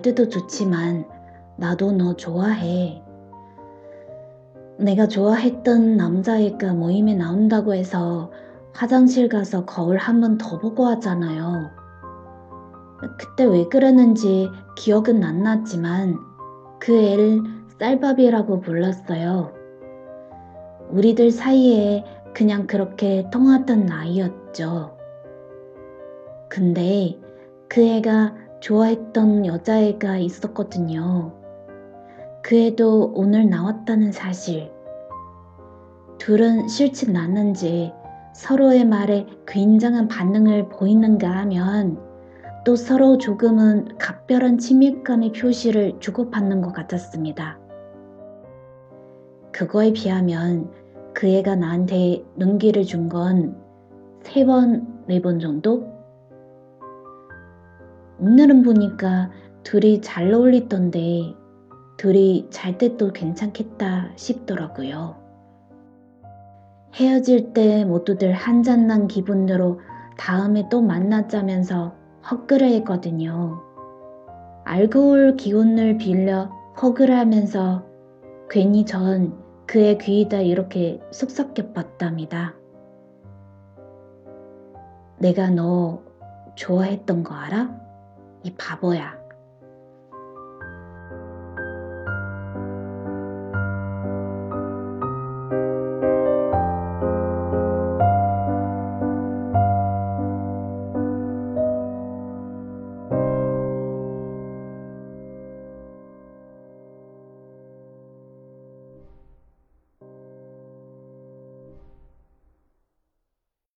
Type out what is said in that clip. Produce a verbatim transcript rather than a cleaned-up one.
때도 좋지만 나도 너 좋아해. 내가 좋아했던 남자애가 모임에 나온다고 해서 화장실 가서 거울 한 번 더 보고 하잖아요. 그때 왜 그랬는지 기억은 안 났지만 그 애를 쌀밥이라고 불렀어요. 우리들 사이에 그냥 그렇게 통하던 나이였죠. 근데 그 애가 좋아했던 여자애가 있었거든요. 그 애도 오늘 나왔다는 사실. 둘은 실측 났는지 서로의 말에 굉장한 반응을 보이는가 하면 또 서로 조금은 각별한 친밀감의 표시를 주고받는 것 같았습니다. 그거에 비하면 그 애가 나한테 눈길을 준 건 세 번, 네 번 정도? 오늘은 보니까 둘이 잘 어울리던데 둘이 잘 때 또 괜찮겠다 싶더라고요. 헤어질 때 모두들 한잔난 기분으로 다음에 또 만나자면서 헛그레 했거든요. 알코올 기운을 빌려 허그를 하면서 괜히 전 그의 귀에다 이렇게 속삭여 봤답니다. 내가 너 좋아했던 거 알아? 이 바보야.